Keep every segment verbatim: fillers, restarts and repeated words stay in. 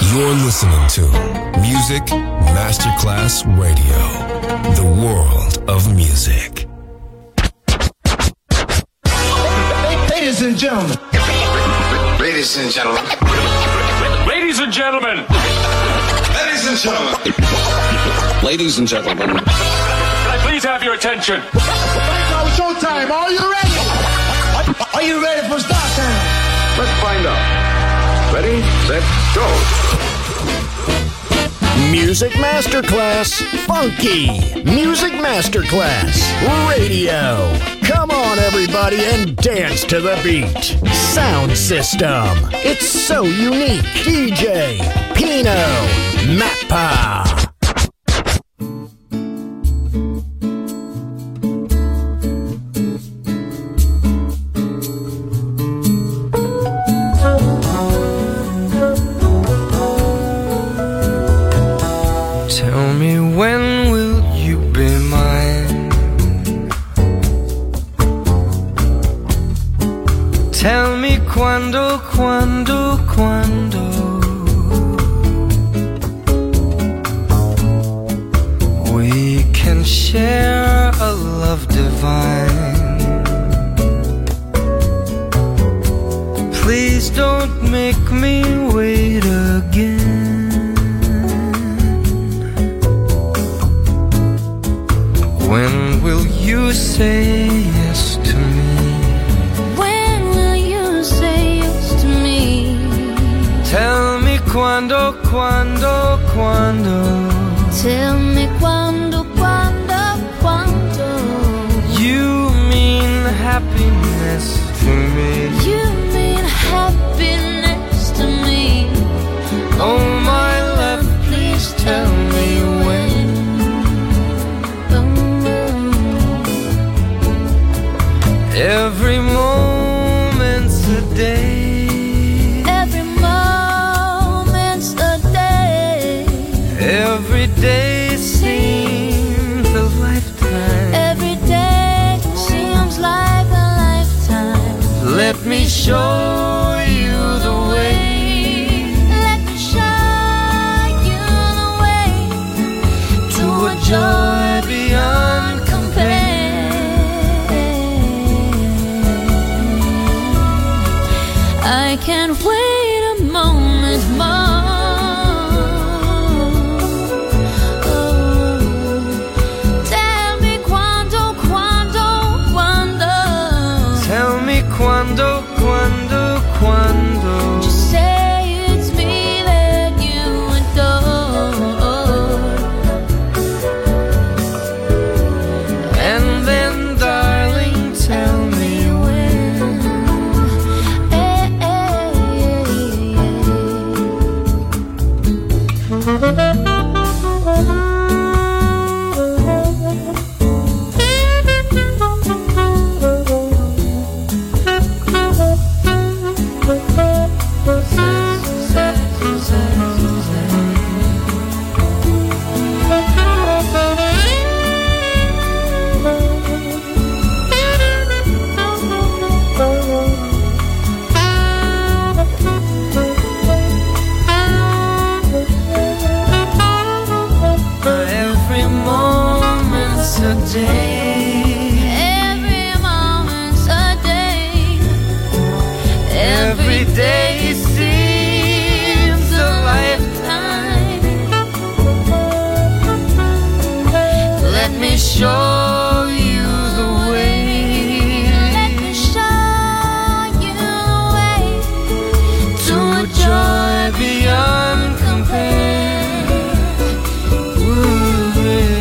You're listening to Music Masterclass Radio, the world of music. Ladies and gentlemen. Ladies and gentlemen. Ladies and gentlemen. Ladies and gentlemen. Ladies and gentlemen. Can I please have your attention? Now it's showtime. Are you ready? Are you ready for start time? Let's find out. Ready, set, go. Music Masterclass Funky. Music Masterclass Radio. Come on, everybody, and dance to the beat. Sound system. It's so unique. D J Pino Mappa. Tell me, when will you be mine? Tell me quando, quando, quando we can share a love divine. Please don't make me wait again. When will you say yes to me? When will you say yes to me? Tell me quando, quando, quando. Tell me quando, quando, quando. You mean happiness to me. You mean happiness to me. Oh my love, please tell me when. Every moment's a day. Every moment's a day. Every day seems a lifetime. Every day seems like a lifetime. Let me show you the way. Let me show you the way to a joy beyond compare. I can't wait a moment more. Oh, tell me quando, quando, quando. Tell me quando, quando, quando. Just say it's me that you adore. And then, darling, tell me when. Eh, eh, Every moment's a day. every moment's a day. Every day seems a lifetime. Let me show you the way. Let me show you the way to a joy beyond compare. Ooh,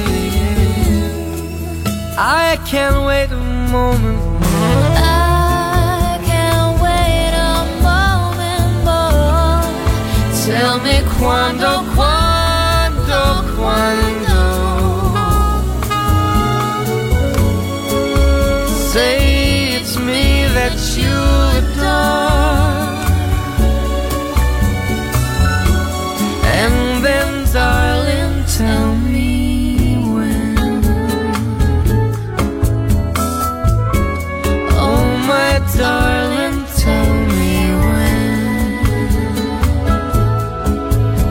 yeah. I can't wait a moment more. I can't wait a moment more. Tell me quando, quando, quando. Say it's me that you adore. And then, darling, tell me when. Oh, my darling, tell me when.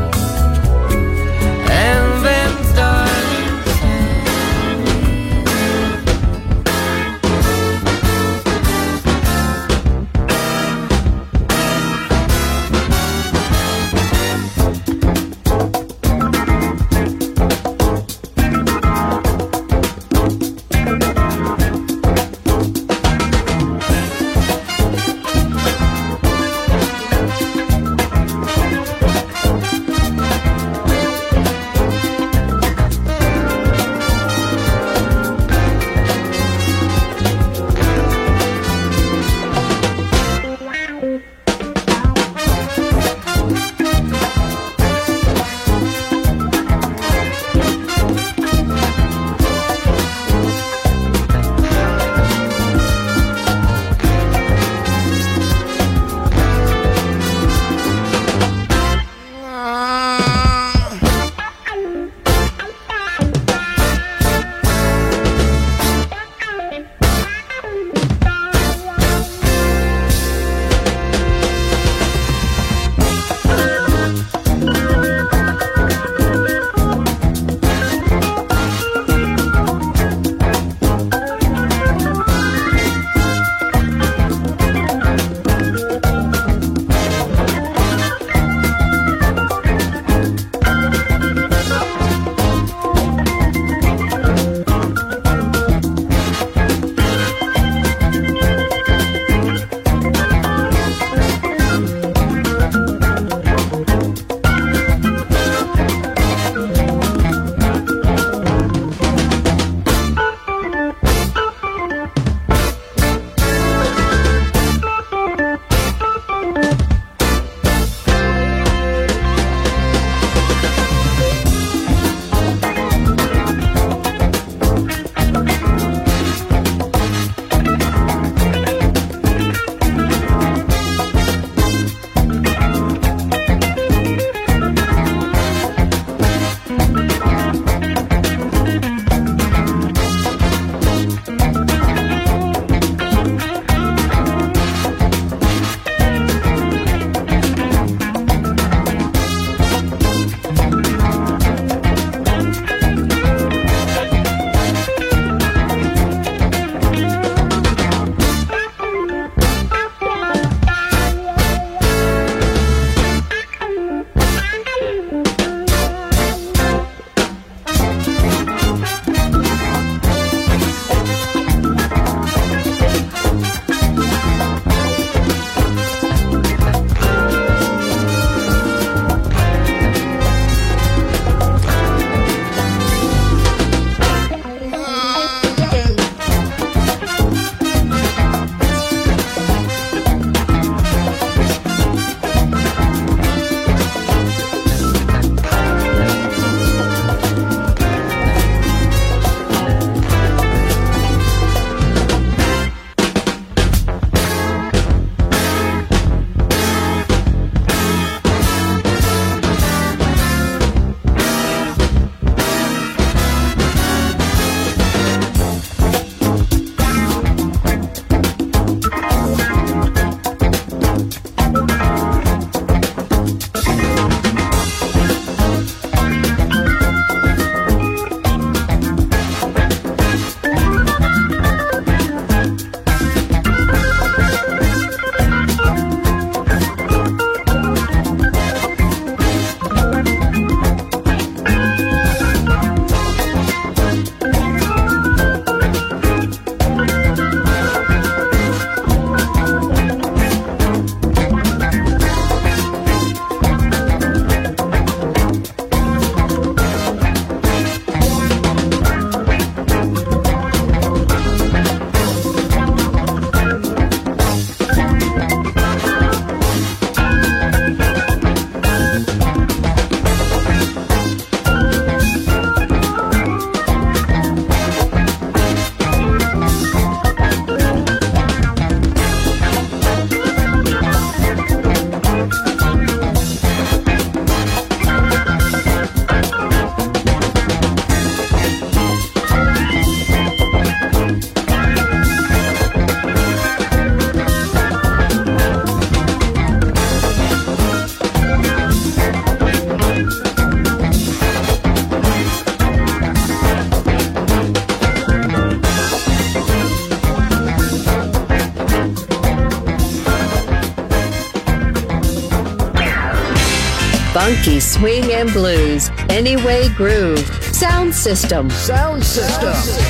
Funky swing and blues. Anyway groove. Sound system. Sound system.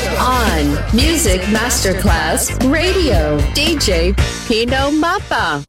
On Music Masterclass Radio. D J Pino Mappa.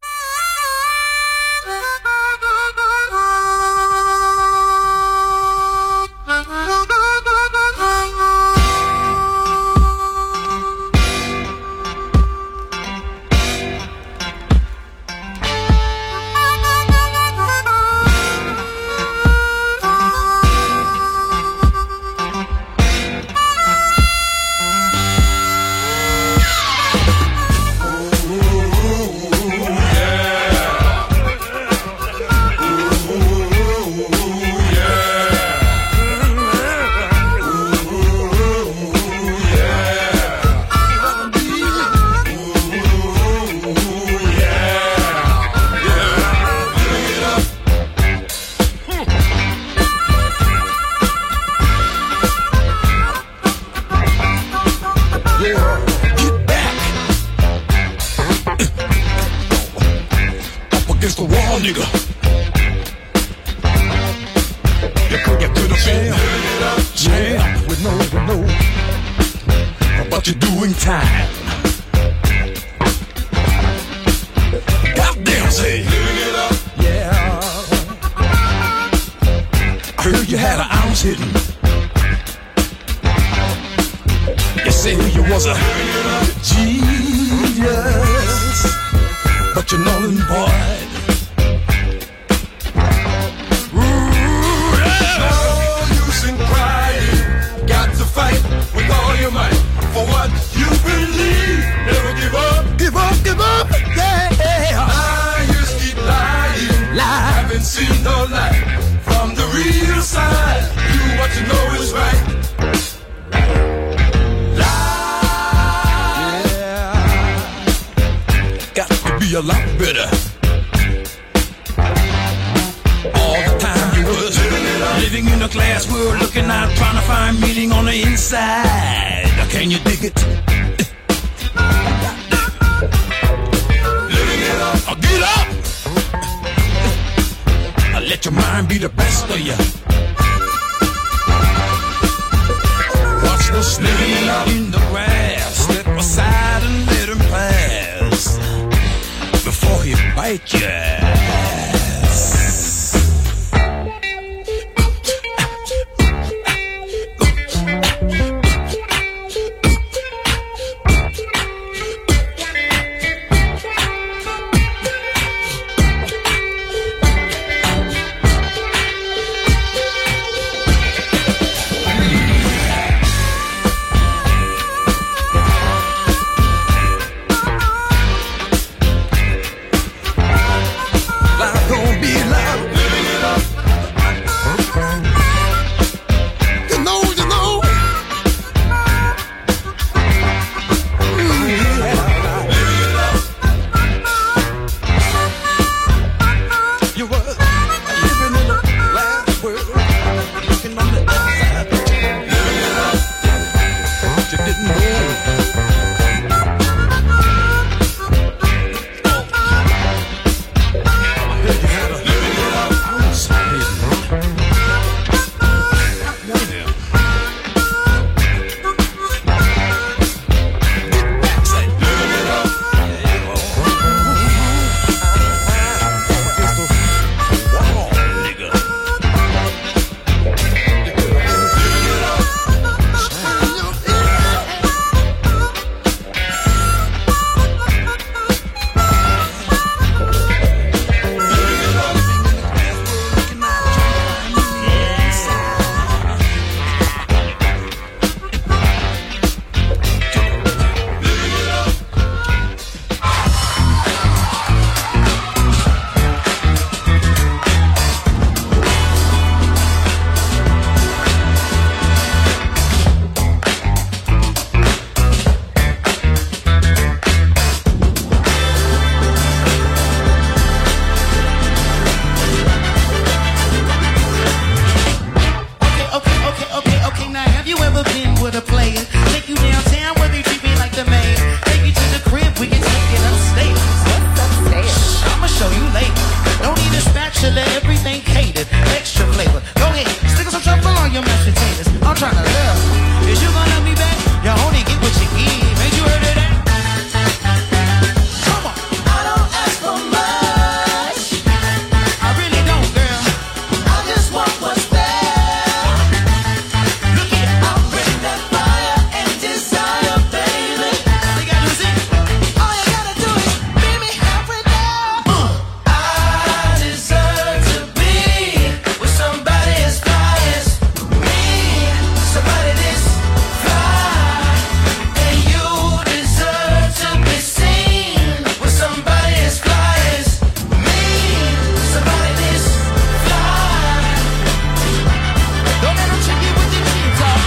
till everything cake. needed extra flavor. Go ahead, stick some truffle on your mashed potatoes. I'm trying to love. Is you gonna love me back? You only get what you give. Ain't you heard of that? Come on. I don't ask for much. I really don't, girl. I just want what's there. Look here, I'll bring that fire and desire, baby. All you gotta do is it. All you gotta do is meet me halfway there. Uh. I deserve to be with somebody as fly as me. Somebody this fly. And you deserve to be seen with somebody as fly as me. Somebody this fly. Don't let them trick you with the jeans off.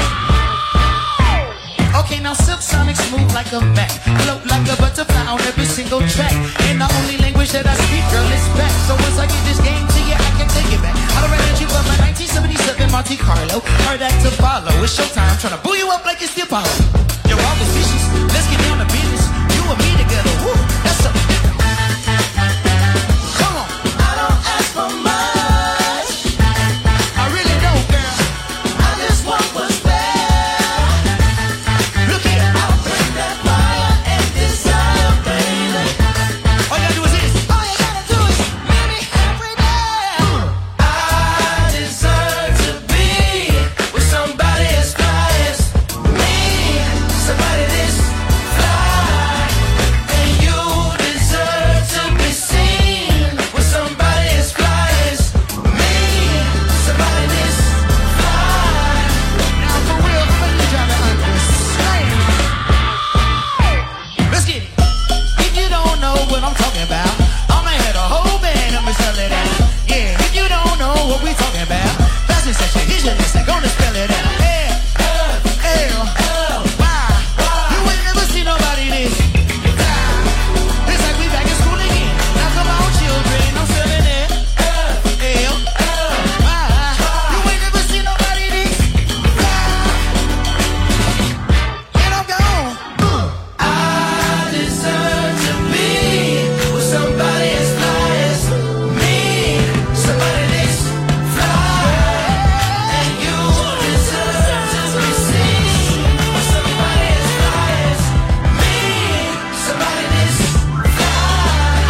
Okay, now Silk Sonic smooth like a Mac, float like a butterfly on every single track. And the only language that I speak, girl, is back. So once I get this game to you, I can take it back. I done ran at you for my nineteen seventy-seven Monte Carlo. Heard that to follow. It's showtime, tryna boo you up like it's the Apollo. You're all vicious. Let's get down to business. You and me together. Woo, that's something different. Come on. I don't ask for much. I really don't, girl. I just want what's there. Look here, I'll bring that fire and desire, baby. All you gotta do is this. All you gotta do is meet me halfway there. I deserve to be with somebody as fly as me. Somebody this fly. And you deserve to be seen with somebody as fly as me. Somebody this fly. Now for real, I'm gonna need y'all to understand. Let's get it. If you don't know what I'm talking about, I'ma have a whole band of me spell it out. Yeah, if you don't know what we talking about, that's the section. Here's your lesson. Gonna spell it out. L, L, L, Y. You ain't never seen nobody this. It's like we back in school again. Now come on, children, I'm spelling it. L, L, Y. You ain't never seen nobody this. And I'm gone. I deserve to be with somebody as fly as me. Somebody this fly. And you deserve to be seen with somebody as fly as me. Somebody this fly.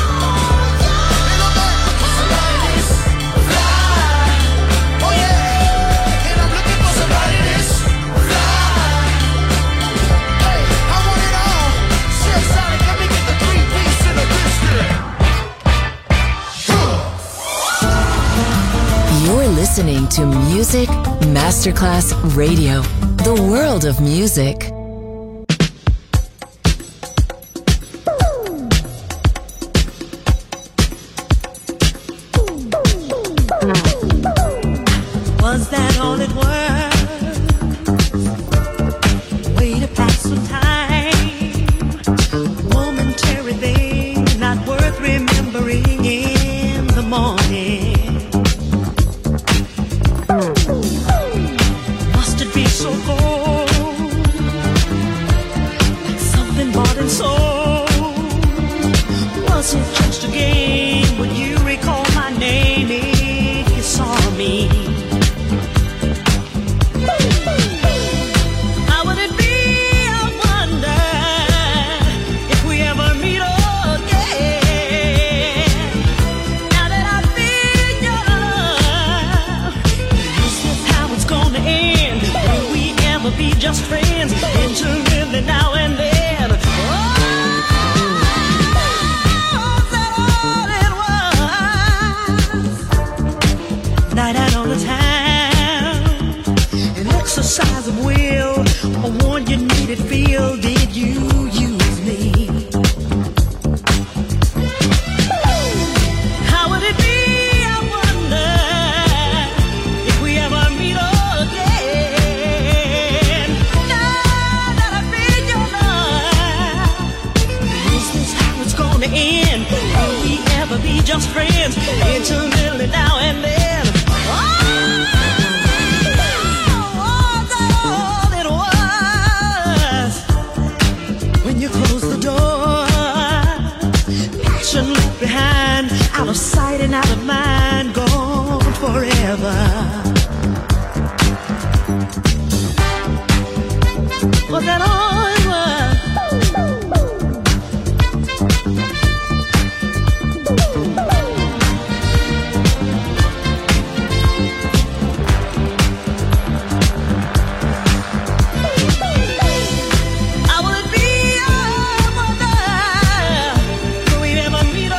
Somebody this fly. Oh yeah. And I'm looking for somebody this fly. Hey, I want it all. Silk Sonic, let me get the three piece in the biscuit. You're listening to Music Masterclass Radio, the world of music. Was that all it was? Way to pass some time. Momentary thing, not worth remembering in the morning. Must it be so cold? Like something bought and sold. Was it just a game? Would you recall my name if you saw me? How would it be, I wonder, if we ever meet again? Now that I feel your love, is this how it's gonna end? Will we ever be just friends? Intimately now and then. Oh, is that all it was? Night out on the town, an exercise of will, a one you needed feel. Did you use me? How would it be, I wonder, if we ever meet again? Now that I feel your love, is this how it's gonna end? Will we ever be just friends? Intimately now and then. Oh, was that all it was? When you close the door, passion left behind, out of sight and out of mind, gone forever. Was that all it was? I would be a wonder if we ever meet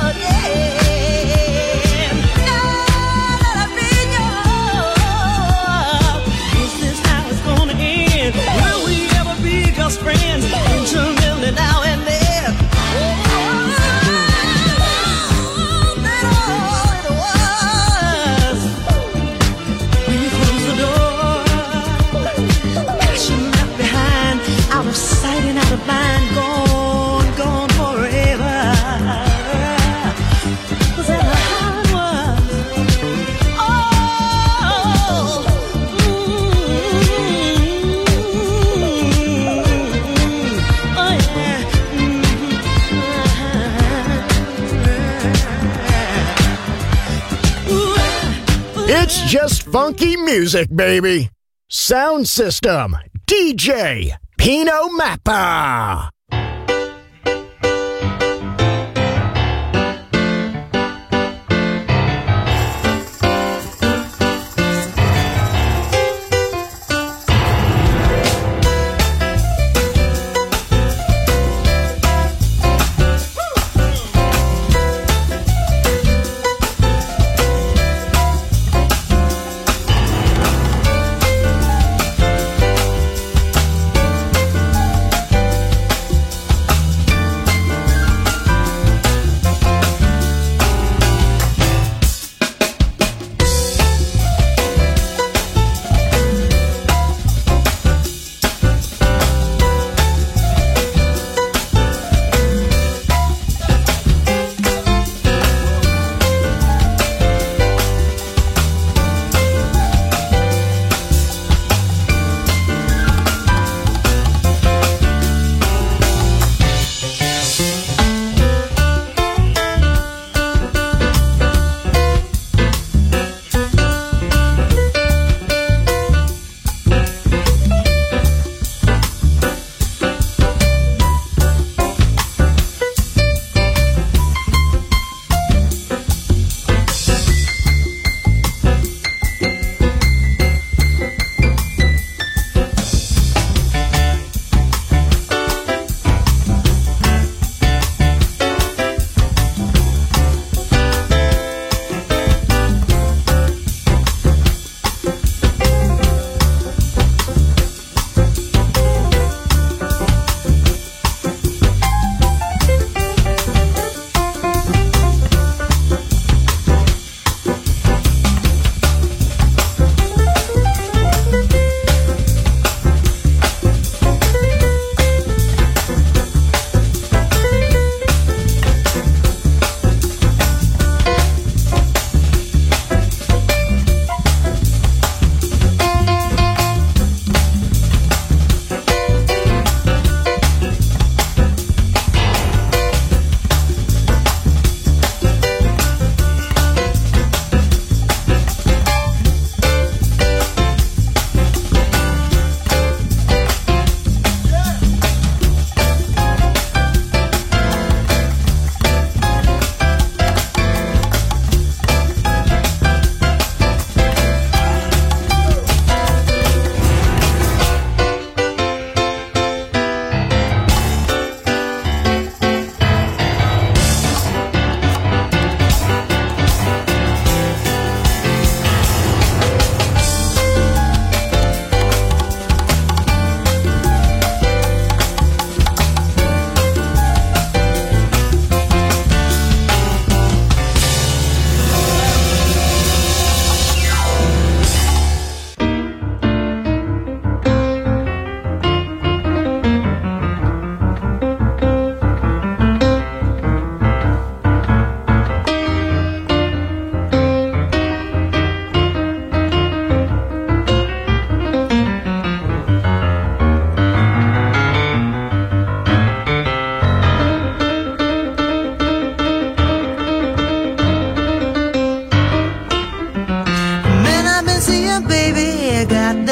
again. Now that I've been yours, is this how it's gonna end? Will we ever be just friends? Intimately now and then. Oh, that all it was. When you close the door, passion left behind, out of sight and out of mind, gone, gone forever. Was that how it was? Oh, mm, oh yeah. Mm. It's just funky music, baby. Sound system, D J Pino Mappa.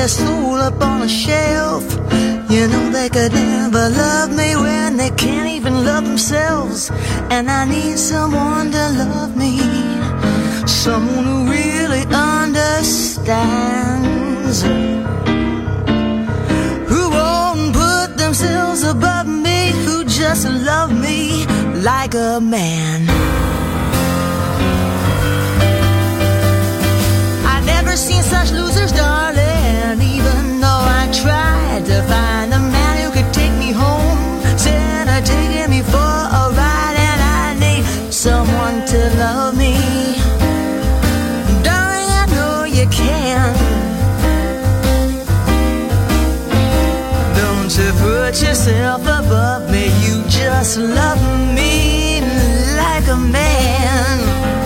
their soul up on a shelf. You know they could never love me when they can't even love themselves. And I need someone to love me, someone who really understands, who won't put themselves above me, who just love me like a man. I've never seen such losers, darling, even though I tried to find a man who could take me home. Said I'd taking me for a ride, and I need someone to love me. Darling, I know you can. Don't you put yourself above me, you just love me like a man.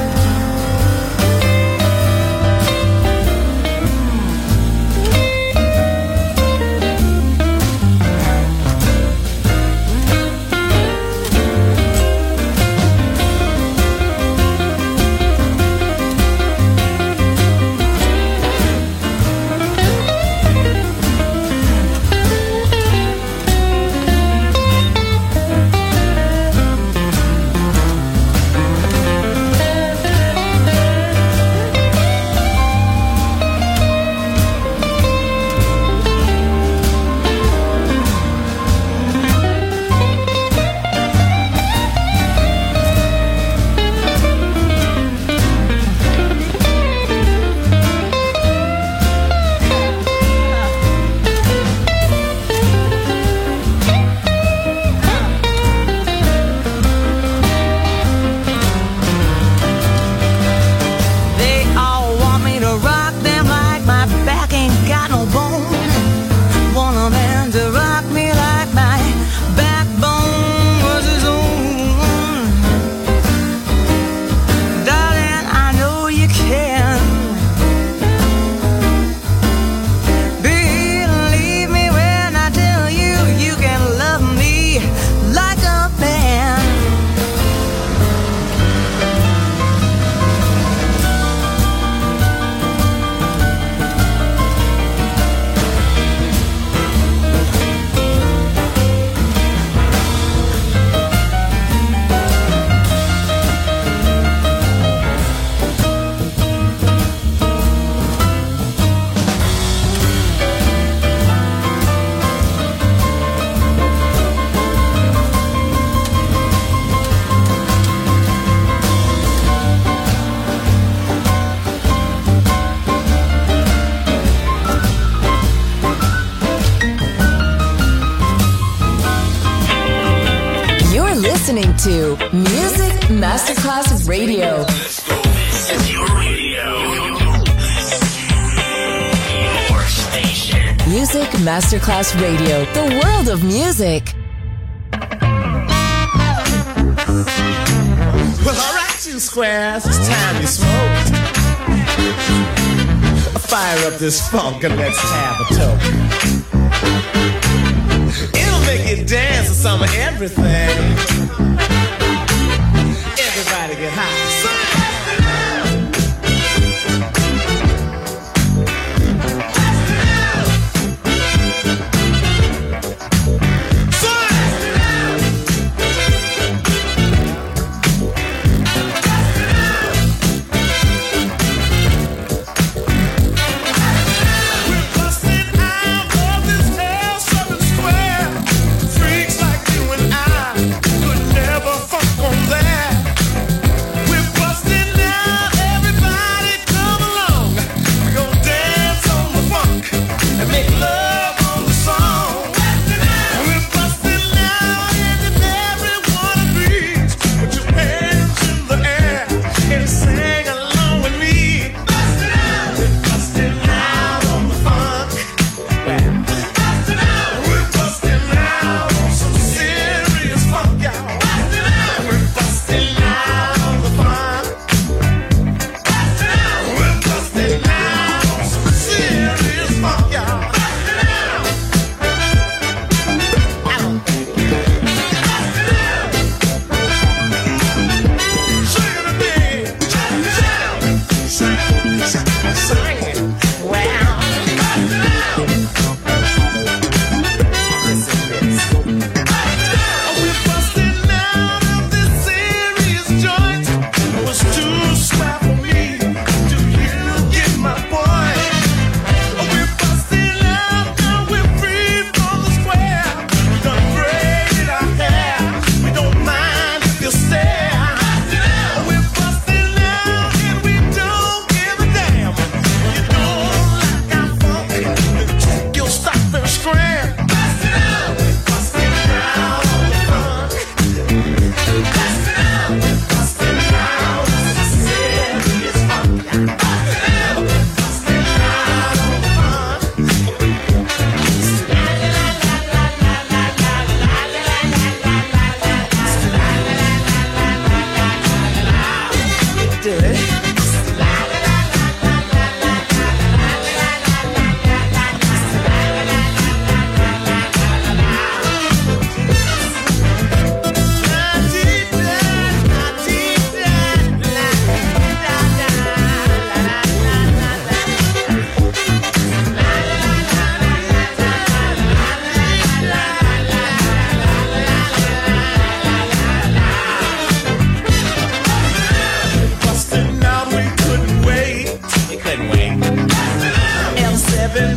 Listening to Music Masterclass Radio. This is your radio. Your station. Music Masterclass Radio. The world of music. Well, all right, you squares, it's time you smoke. Fire up this funk and let's have a toke. It'll make you dance to some of everything. Everybody get high. Sing it. Well,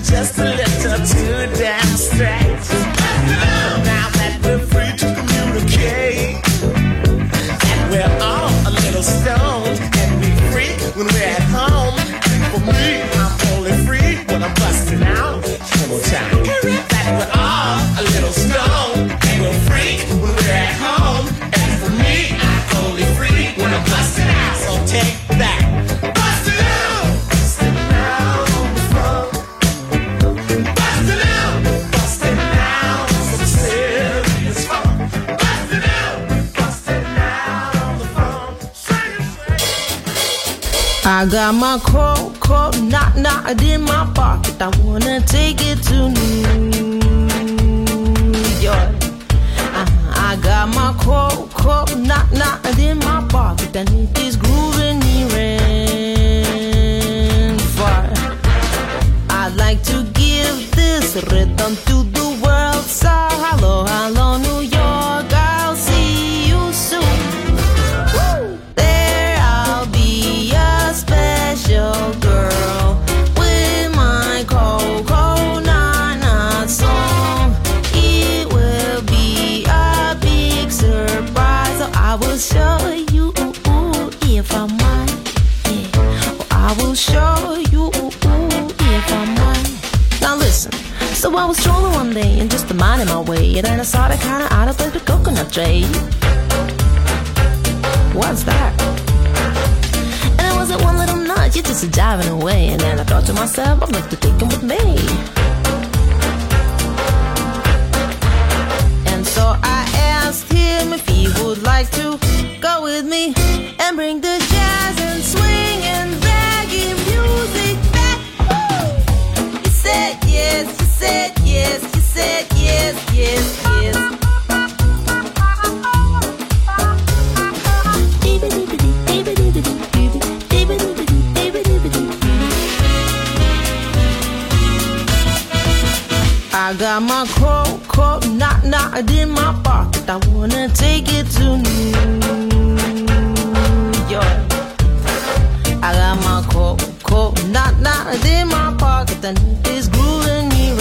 just a little too damn straight. Now that we're free to communicate, and we're all a little stoned, and we freak when we're at home. For me, I'm only free when I'm busting out. One more time. That we're all a little stoned, and we're freak when we're at home. And for me, I'm only free when I'm busting out. So take that. Bust it out! Bust it out on the floor. Bust it out! Bust it out! Some serious fun. Bust it out! Bust it out on the phone. Sing it, sing it. I got my coat, coat, knock, knock in my pocket. I wanna take it to New York. I, I got my coat, coat, knock, knock in my pocket. And it is grooving near and far. I'd like to give this rhythm to the world. So hello, hello, New York. I'll see you soon. Woo! There I'll be a special girl with my coconut song. It will be a big surprise. So I will show you if I might. Yeah. Oh, I will show you if I might. Now listen. So I was strolling one day and just minding my way, and then I saw the kind of out of place with coconut tree. What's that? And it wasn't one little nut, you just a jiving away. And then I thought to myself, I'd like to take him with me. And so I asked him if he would like to go with me and bring the jazz and swing and reggae music back. Woo! He said yes, he said yes, he said yes, yes, yes. I got my coat, coat, knock, knock in my pocket. I wanna take it to New York. I got my coat, coat, knock, knock in my pocket. And it is grooving me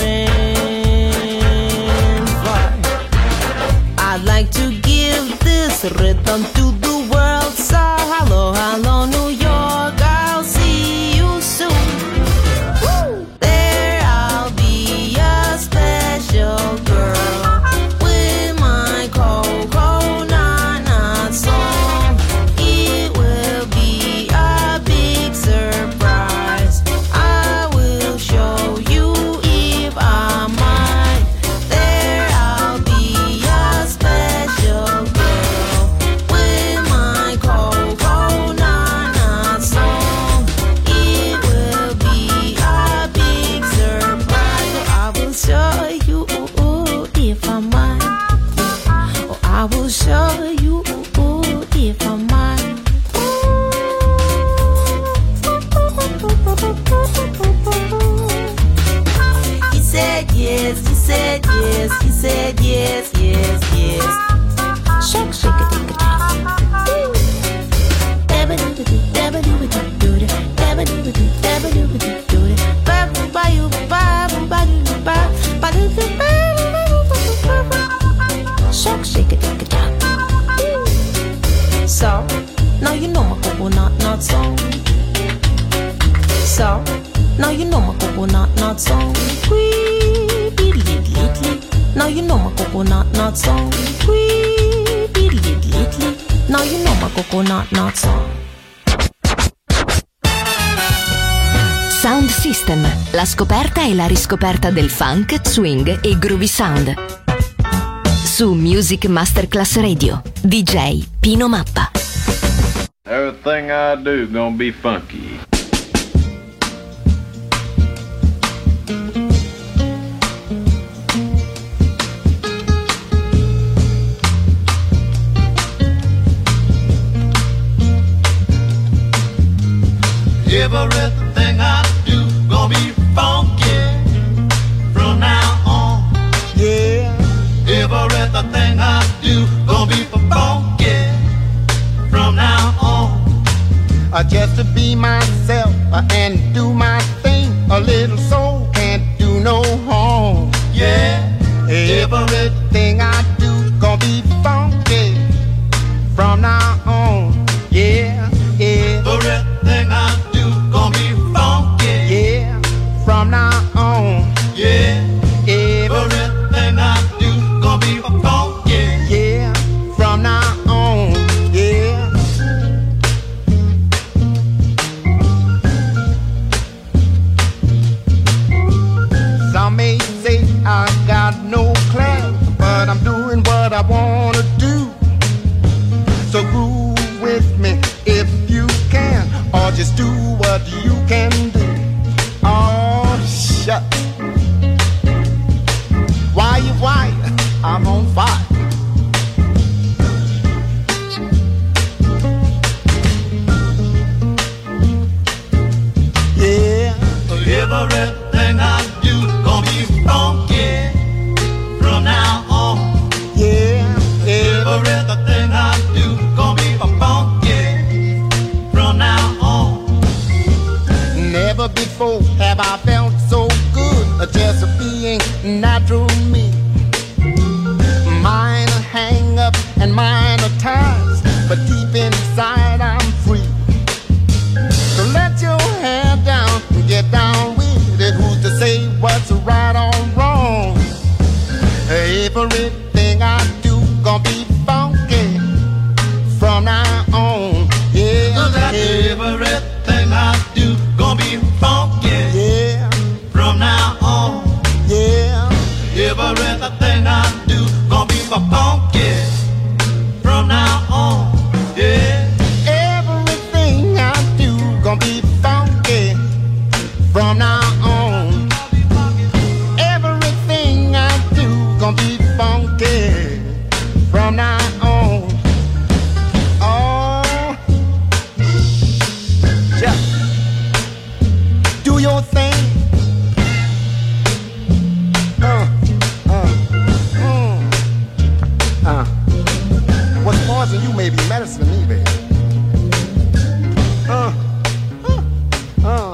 rain far. I'd like to give this rhythm to the world. So hello, hello, New York. I'll see you soon. Woo! There I'll be a special girl with my coconut song. It will be a big surprise. I will show you if I might. There I'll be a special girl with my coconut song. It will be a big surprise. Oh, I will show you if I might. Oh, I will show you if I might. He said yes, he said yes, he said yes, yes, yes. Shake, shake it, take a chance. Shake, shake it, take a chance. So, now you know my coconut nut song. So, now you know my coconut nut song. Wee, diddly, diddly. Now you know my coconut nut song. Wee, diddly, diddly. Now you know my coconut nut song. Sound System, la scoperta e la riscoperta del funk, swing e groovy sound. Su Music Masterclass Radio, D J Pino Mappa. Everything I do gonna be funky. Everything I do gonna be funky from now on. Yeah. Everything I do gonna be funky from now on. Uh, just to be myself uh, and do my thing. A little soul can't do you can do. Oh, shut. Why you, why? I'm on fire. Yeah. Everything I do gonna be funky from now on. Yeah. Everything I do gonna be funky from now on. Never before have I felt so good, just being natural me. Mine are hang up and mine are ties, but deep inside I'm free. So let your hair down and get down with it. Who's to say what's right or wrong? Everything I do gonna be funky from now on. Yeah, so that everything I do gonna be funky. Yeah, from now on. Yeah, everything I do gonna be funky from now on. Yeah. Everything I do gonna be funky from now on. Everything I do gonna be funky from now on. Oh, yeah. Do your thing. Uh, uh, mm. uh. What's poison you may be medicine to me, baby. Uh, uh, uh, uh.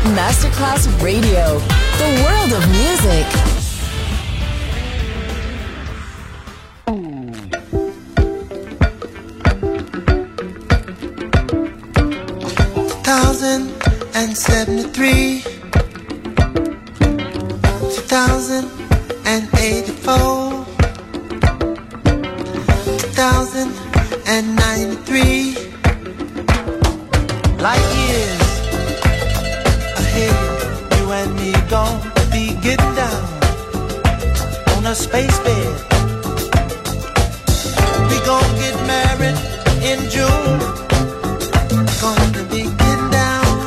Masterclass Radio, the world of music. Thousand and seventy-three, two thousand and eighty-four, two thousand and ninety-three. Light years ahead, you and me gon' be getting down on a space bed. We gon' get married in June. Gonna be getting down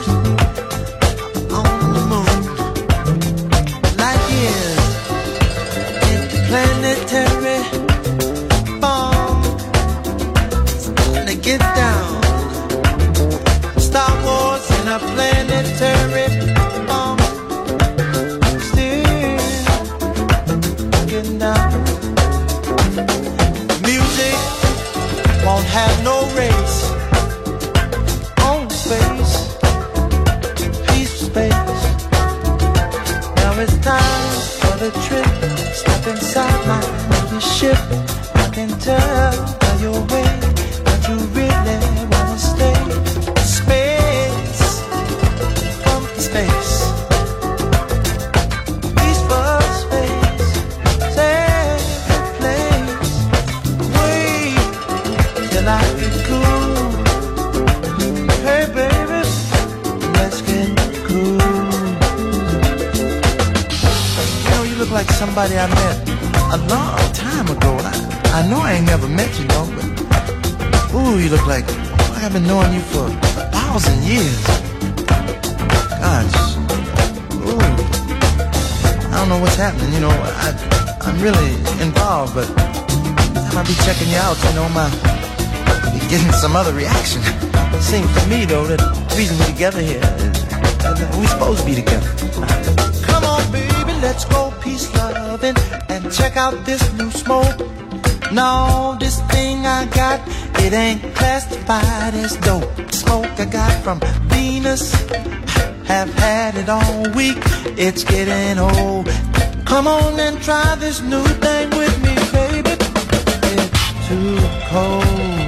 on the moon. Light years interplanetary bomb. Gonna get down. Star Wars in a planetary bomb. Still getting down. Music won't have no race. On space, peaceful space. Now it's time for the trip. Step inside my little ship. I can tell by your way that you really wanna stay. Space, funky space, peaceful space, safe place. Wait till I get cool. Hey baby, let's get cool. You know, you look like somebody I met a long time ago. I, I know I ain't never met you, no, but ooh, you look like, like I've been knowing you for a thousand years. Gosh, ooh, I don't know what's happening. You know, I, I'm really involved, but every time I be checking you out, you know, my be getting some other reaction. It seems to me, though, that the reason we're together here is that we're supposed to be together. Come on, baby, let's go peace loving and check out this new smoke. No, this thing I got, it ain't classified as dope. Smoke I got from Venus, have had it all week. It's getting old. Come on and try this new thing with me, baby. It's too cold.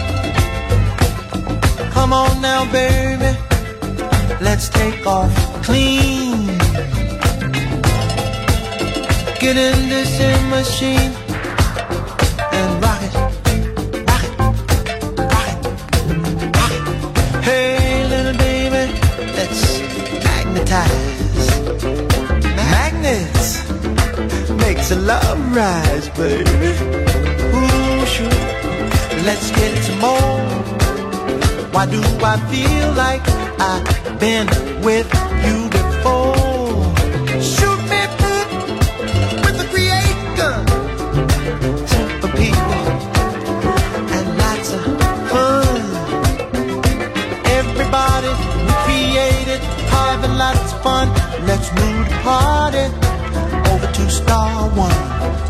Come on now, baby, let's take off clean. Get in this in machine and rock it, rock it, rock it, rock it. Hey, little baby, let's magnetize. Magnets makes a love rise, baby. Ooh, sure. Let's get some more. Why do I feel like I've been with you before? Shoot me with the creator. Simple people and lots of fun. Everybody we created having lots of fun. Let's move the party over to Star One.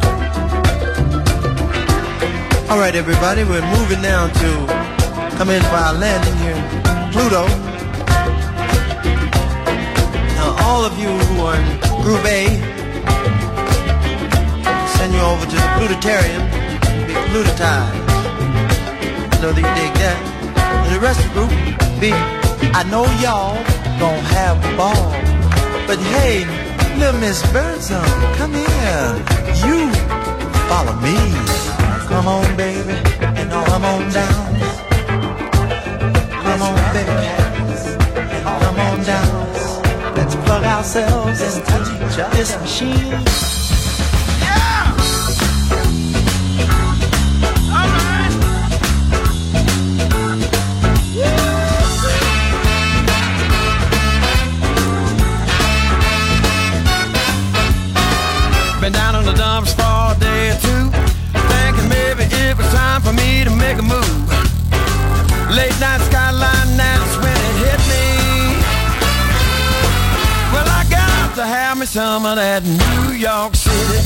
All right, everybody, we're moving now to come in for our landing here in Pluto. Now, all of you who are in Group A, send you over to the Plutarium, be Plutotized. I know that you dig that. And the rest of the group, be, I know y'all gon' have a ball. But hey, little Miss Birdsong, come here. You follow me. Come on, baby, and come on down. Come on, baby, come on down. Let's plug ourselves into this machine. Yeah! All right! Been down on the dumps for a day or two, thinking maybe it was time for me to make a move. Late night skyline, that's when it hit me. Well, I got to have me some of that New York City.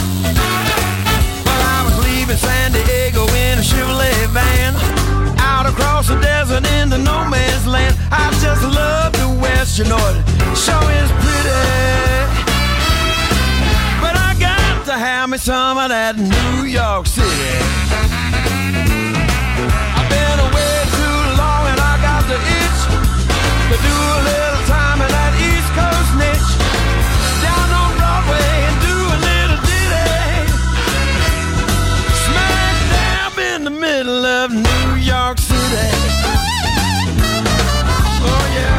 Well, I was leaving San Diego in a Chevrolet van, out of across the desert into no man's land. I just love the West, you know it sure is pretty. But I got to have me some of that New York City. I've been away too long and I got the itch to do a little time in that East Coast niche. Down on Broadway and do a little ditty. Smack dab in the middle of New York City. Oh yeah.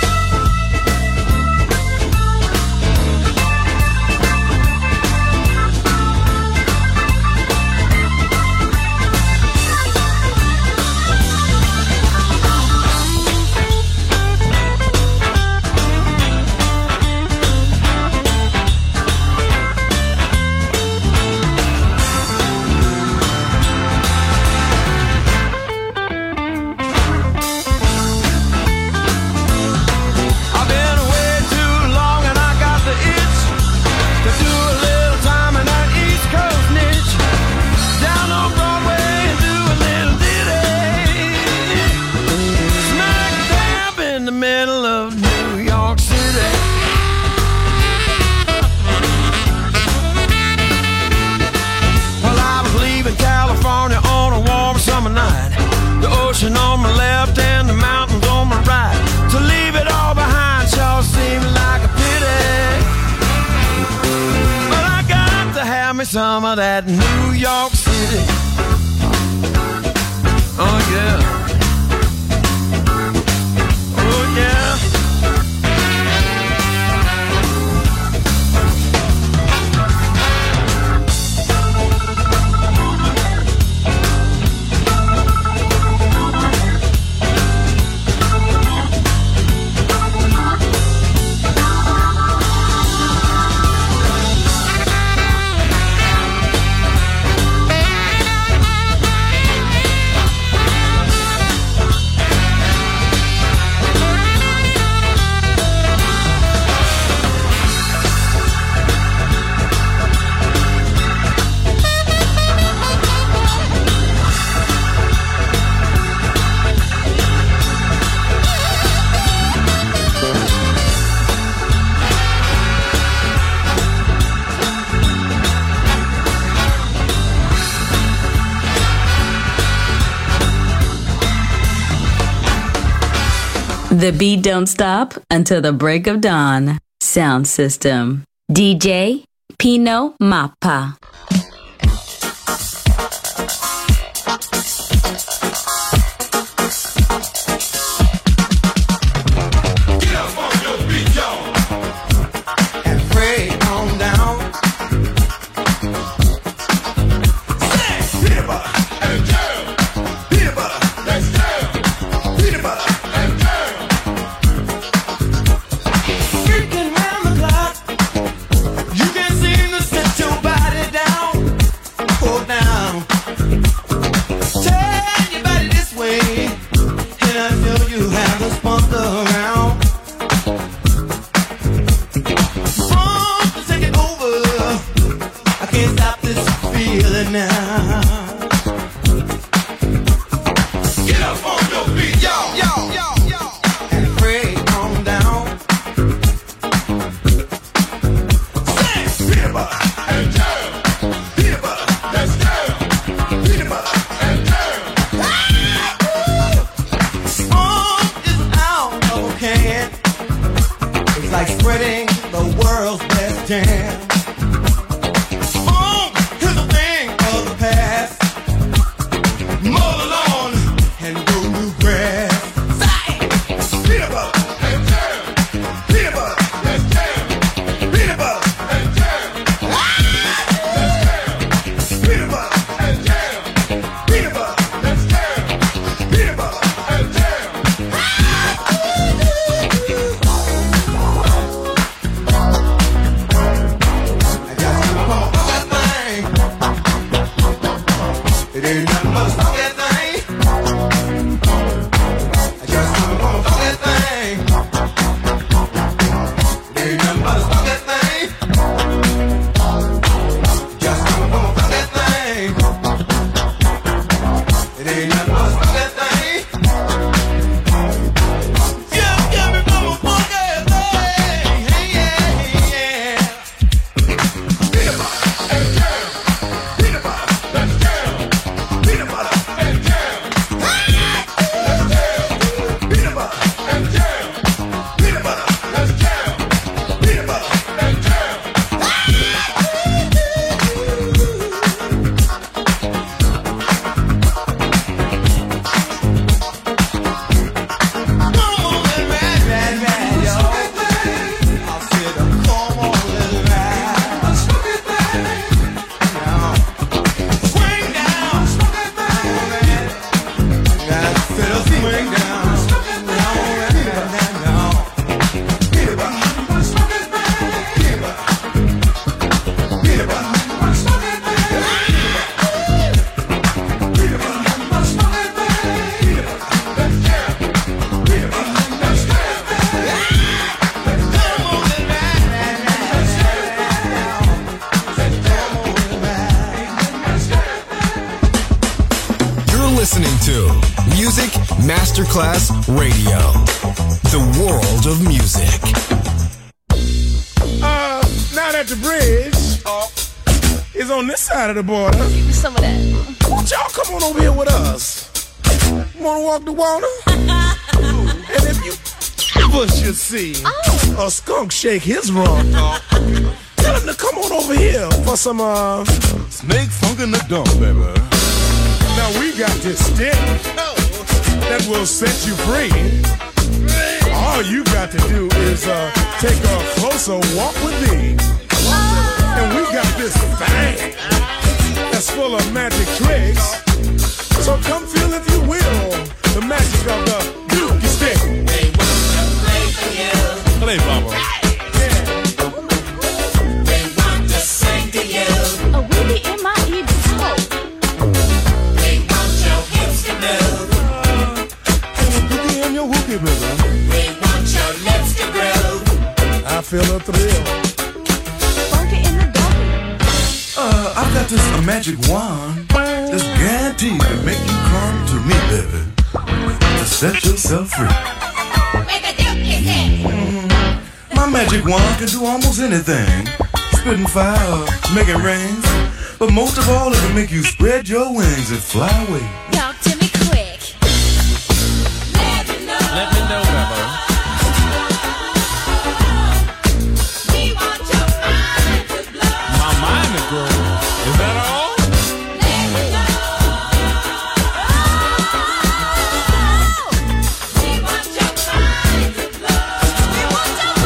On my left and the mountains on my right. To leave it all behind sure seems like a pity. But I got to have me some of that New York City. Oh yeah. Oh yeah. The beat don't stop until the break of dawn. Sound system. D J Pino Mappa. Masterclass Radio. The world of music. Uh, now that the bridge is on this side of the border, give me some of that. Won't y'all come on over here with us? Wanna walk the water? And if you ever should see oh. a skunk shake his rump, tell him to come on over here for some uh snake funk in the dump, baby. Now we got this stick that will set you free. All you got to do is uh, take a closer walk with me. And we got this thing that's full of magic tricks. So come feel, if you will, the magic of the Dookie stick. They want to play for you. Play, Mama. They want to sing to you. A weedy in my ear smoke. They want your hips to move. Dookie and your wookie, baby. They want your lips to groove. I feel a thrill. Funky in the donkey. Uh, I've got this a magic wand that's guaranteed to make you come to me, baby, to set yourself free. Where the Dookie stick? Mm-hmm. My magic wand can do almost anything. Spitting fire, making rain. But most of all, it can make you spread your wings and fly away. Talk to me quick. Let me know. Let me know, Bubba. We want your mind to blow. My mind to grow. Is that all? Let me know. We want your mind to blow. We want your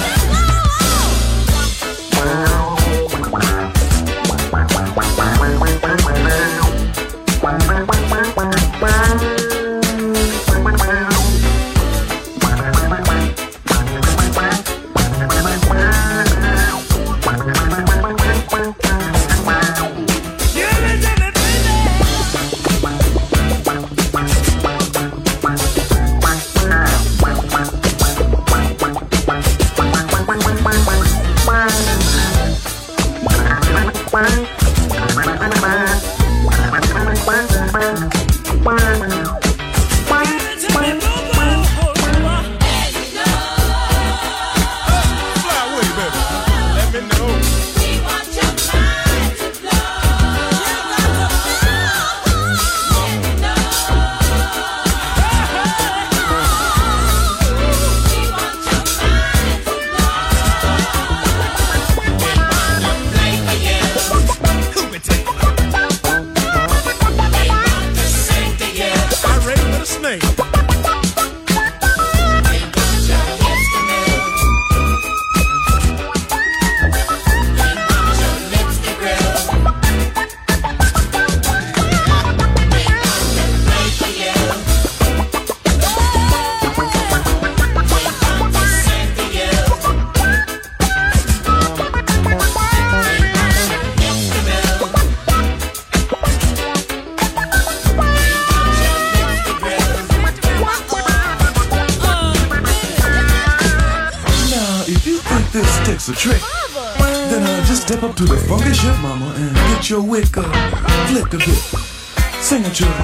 Takes a trick. Then uh, just step up to the funky shit, mama, and get your wick up, flick a bit, sing it, children.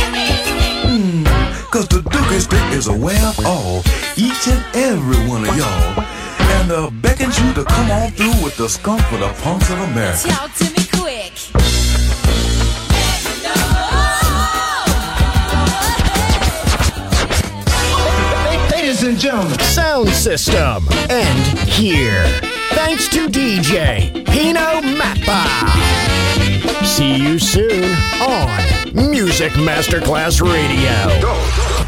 Mmm, cause the Dookie stick is a way of all, each and every one of y'all, and uh, beckons you to come on through with the skunk for the punks of America. Talk to me quick. Ladies and gentlemen, Sound System. And here, thanks to D J Pino Mappa. See you soon on Music Masterclass Radio. Go.